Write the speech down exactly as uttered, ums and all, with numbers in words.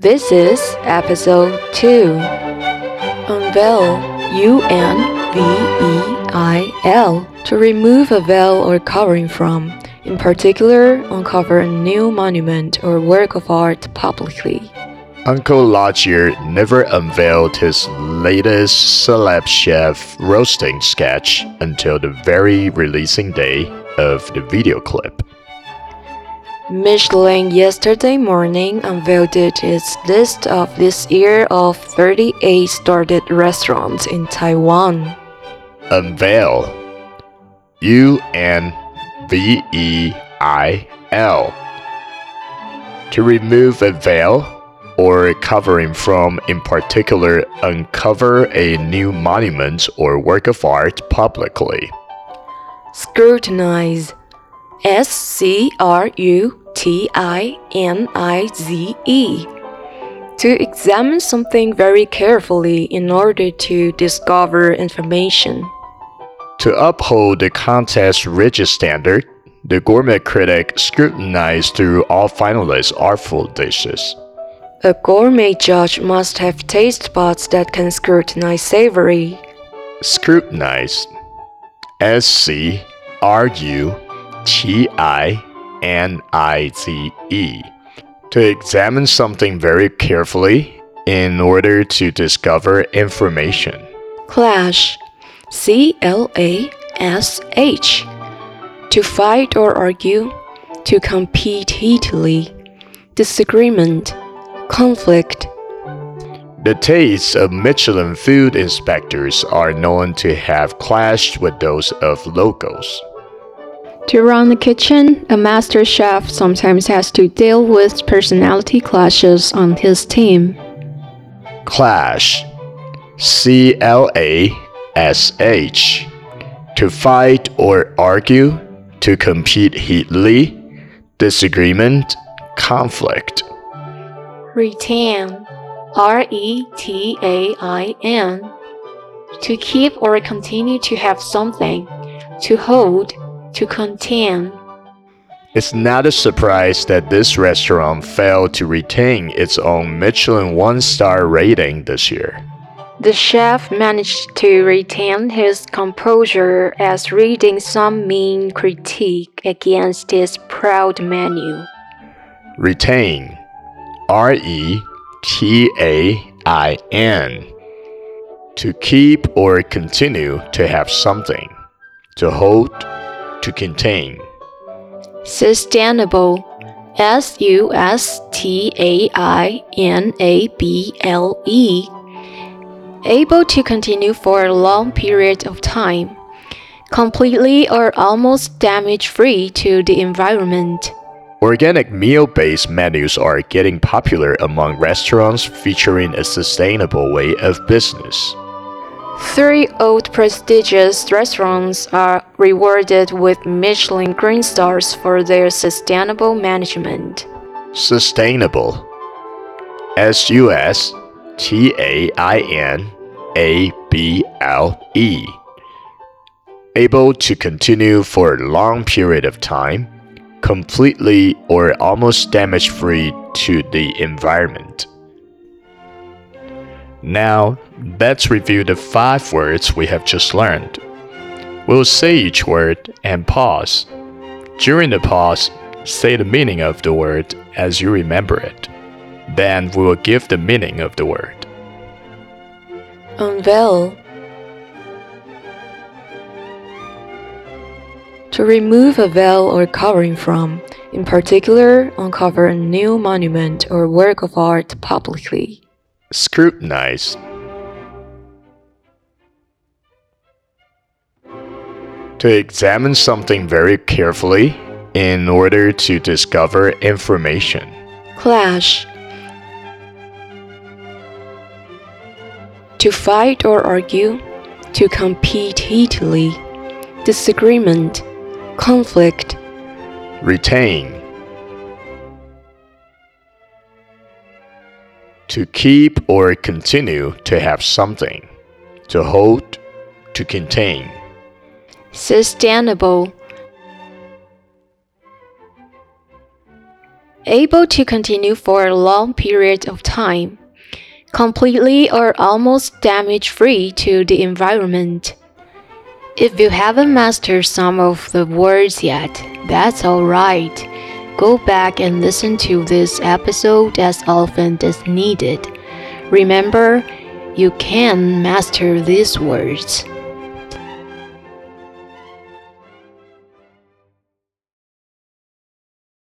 This is episode two. Unveil, U N V E I L, to remove a veil or covering from, in particular, uncover a new monument or work of art publicly. Uncle Lodger never unveiled his latest celeb chef roasting sketch until the very releasing day of the video clip. Michelin yesterday morning unveiled its list of this year of thirty-eight started restaurants in Taiwan. Unveil. U N V E I L. To remove a veil or covering from, in particular, uncover a new monument or work of art publicly. Scrutinize. S C R U T I N I Z E. To examine something very carefully in order to discover information. To uphold the contest's rigid standard, the gourmet critic scrutinized through all finalists' artful dishes. A gourmet judge must have taste buds that can scrutinize savory. Scrutinize. S C R U T I N I Z E. To examine something very carefully in order to discover information. Clash. C L A S H. To fight or argue. To compete heatedly. Disagreement. Conflict. The tastes of Michelin food inspectors are known to have clashed with those of locals. To run a kitchen, a master chef sometimes has to deal with personality clashes on his team. Clash. C L A S H. To fight or argue, to compete heatedly, disagreement, conflict. Retain. R E T A I N. To keep or continue to have something. To hold. To contain. It's not a surprise that this restaurant failed to retain its own Michelin one-star rating this year. The chef managed to retain his composure as reading some mean critique against his proud menu. Retain. R E T A I N. To keep or continue to have something. To hold. To contain. Sustainable. S U S T A I N A B L E. Able to continue for a long period of time. Completely or almost damage-free to the environment. Organic meal-based menus are getting popular among restaurants featuring a sustainable way of business. Three old prestigious restaurants are rewarded with Michelin Green Stars for their sustainable management. Sustainable. S U S T A I N A B L E. Able to continue for a long period of time, completely or almost damage-free to the environment. Now, let's review the five words we have just learned. We'll say each word and pause. During the pause, say the meaning of the word as you remember it. Then we will give the meaning of the word. Unveil. To remove a veil or covering from, in particular, uncover a new monument or work of art publicly. Scrutinize. To examine something very carefully in order to discover information. Clash. To fight or argue. To compete heatedly. Disagreement. Conflict. Retain. To keep or continue to have something. To hold. To contain. Sustainable. able to continue for a long period of time, completely or almost damage-free to the environment. If you haven't mastered some of the words yet, that's alright. Go back and listen to this episode as often as needed. Remember, you can master these words.